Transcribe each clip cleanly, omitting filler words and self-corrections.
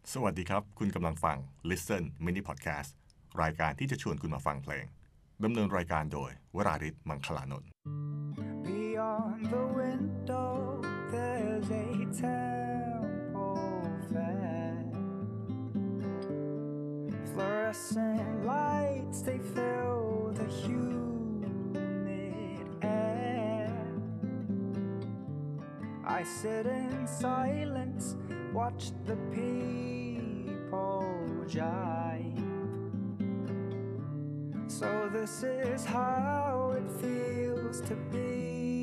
สวัสดีครับคุณกำลังฟัง Listen Mini Podcast รายการที่จะชวนคุณมาฟังเพลงดำเนินรายการโดยวราริศ มังคลานนท์ Beyond the window there's a temple fair Fluorescent lights they fill the humid air I sit in silence watch the people jive So this is how it feels to be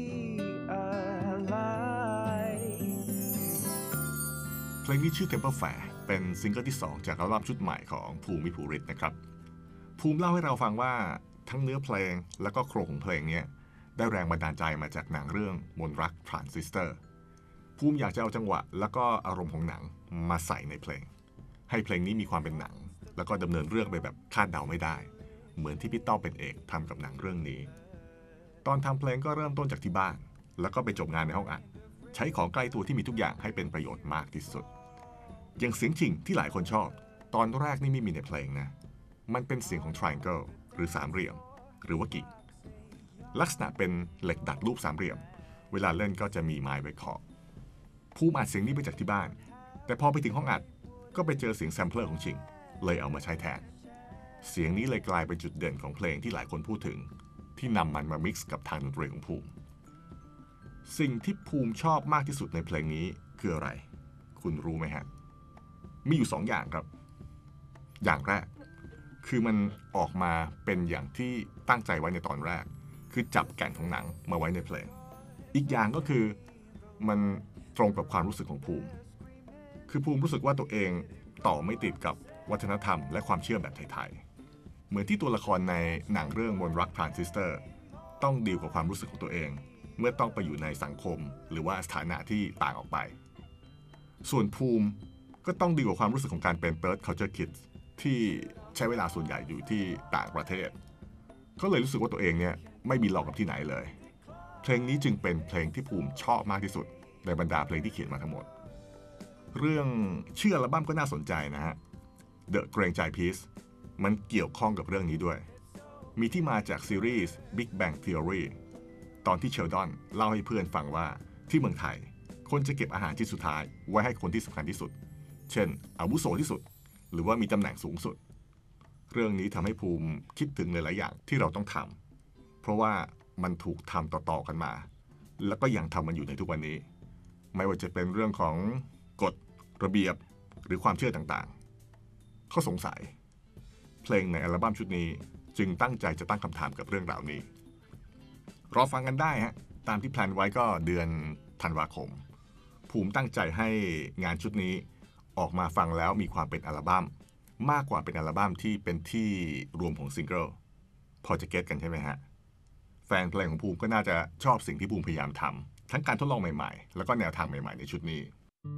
alive เพลงนี้ชื่อ Temple Fair เป็นซิงเกิลที่ 2 จากอัลบั้มชุดใหม่ของภูมิ ภูริศนะครับภูมิเล่าให้เราฟังว่าทั้งเนื้อเพลงและก็โครงของเพลงนี้ได้แรงบันดาลใจมาจากหนังเรื่องมนต์รักทรานซิสเตอร์ภูมิอยากจะเอาจังหวะแล้วก็อารมณ์ของหนังมาใส่ในเพลงให้เพลงนี้มีความเป็นหนังแล้วก็ดำเนินเรื่องไปแบบคาดเดาไม่ได้เหมือนที่พี่ต้อมเป็นเอกทำกับหนังเรื่องนี้ตอนทำเพลงก็เริ่มต้นจากที่บ้านแล้วก็ไปจบงานในห้องอัดใช้ของใกล้ตัวที่มีทุกอย่างให้เป็นประโยชน์มากที่สุดอย่างเสียงชิ่งที่หลายคนชอบตอนแรกนี่ไม่มีในเพลงนะมันเป็นเสียงของ triangle หรือสามเหลี่ยมหรือว่ากิ่งลักษณะเป็นเหล็กดัดรูปสามเหลี่ยมเวลาเล่นก็จะมีไม้ไว้เคาะภูมิอัดเสียงนี้ไปจากที่บ้านแต่พอไปถึงห้องอัดก็ไปเจอเสียงแซมเพลอร์ของชิงเลยเอามาใช้แทนเสียงนี้เลยกลายเป็นจุดเด่นของเพลงที่หลายคนพูดถึงที่นำมันมามิกซ์กับทางดนตรีของภูมิสิ่งที่ภูมิชอบมากที่สุดในเพลงนี้คืออะไรคุณรู้ไหมฮะมีอยู่2 อย่างครับอย่างแรกคือมันออกมาเป็นอย่างที่ตั้งใจไว้ในตอนแรกคือจับแก่นของหนังมาไว้ในเพลงอีกอย่างก็คือมันตรงกับความรู้สึกของภูมิคือภูมิรู้สึกว่าตัวเองต่อไม่ติดกับวัฒนธรรมและความเชื่อแบบไทยๆเหมือนที่ตัวละครในหนังเรื่องมนต์รักทรานซิสเตอร์ต้องดีลกับความรู้สึกของตัวเองเมื่อต้องไปอยู่ในสังคมหรือว่าสถานะที่ต่างออกไปส่วนภูมิก็ต้องดีลกับความรู้สึกของการเป็น Third Culture Kid ที่ใช้เวลาส่วนใหญ่อยู่ที่ต่างประเทศก็เลยรู้สึกว่าตัวเองเนี่ยไม่มีหลอกกับที่ไหนเลยเพลงนี้จึงเป็นเพลงที่ภูมิชอบมากที่สุดในบรรดาเพลงที่เขียนมาทั้งหมดเรื่องชื่ออัลบั้มก็น่าสนใจนะฮะ The เกรงใจ Piece มันเกี่ยวข้องกับเรื่องนี้ด้วยมีที่มาจากซีรีส์ Big Bang Theory ตอนที่เชลดอนเล่าให้เพื่อนฟังว่าที่เมืองไทยคนจะเก็บอาหารที่สุดท้ายไว้ให้คนที่สำคัญที่สุดเช่นอาวุโสที่สุดหรือว่ามีตำแหน่งสูงสุดเรื่องนี้ทำให้ภูมิคิดถึงหลายๆอย่างที่เราต้องทำเพราะว่ามันถูกทำต่อๆกันมาแล้วก็ยังทำมันอยู่ในทุกวันนี้ไม่ว่าจะเป็นเรื่องของกฎระเบียบหรือความเชื่อต่างๆเขาสงสัยเพลงในอัลบั้มชุดนี้จึงตั้งใจจะตั้งคำถามกับเรื่องราวนี้รอฟังกันได้ฮะตามที่แพลนไว้ก็เดือนธันวาคมภูมิตั้งใจให้งานชุดนี้ออกมาฟังแล้วมีความเป็นอัลบั้มมากกว่าเป็นอัลบั้มที่เป็นที่รวมของซิงเกิลพอจะเก็ตกันใช่ไหมฮะแฟนเพลงของภูมิก็น่าจะชอบสิ่งที่ภูมิพยายามทำทั้งการทดลองใหม่ๆแล้วก็แนวทางใหม่ๆในชุดนี้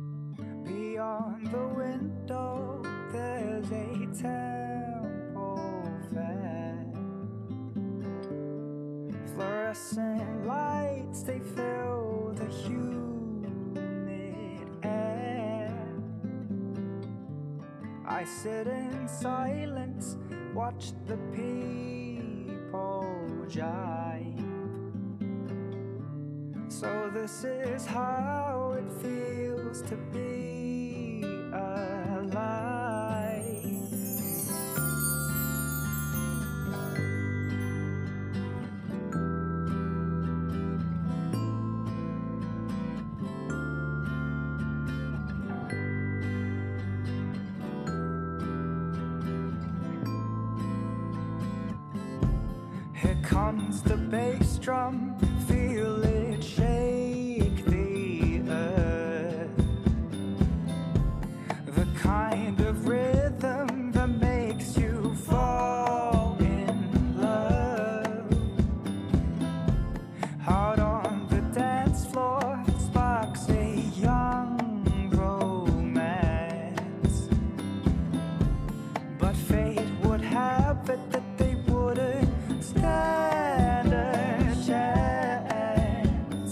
Beyond the window there's a temple fair Fluorescent lights they fill the humid air I sit in silence watch the people jive So this is how it feels to be alive Here comes the bass drum feel it shake the earth The kind of rhythm that makes you fall in love Out on the dance floor sparks a young romance But fate would have it that they wouldn't stand a chance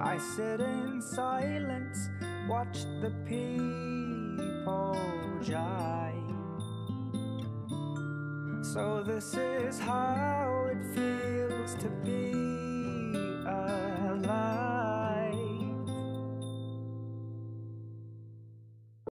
I sit in silence, watch the people jive. So this is how it feels to be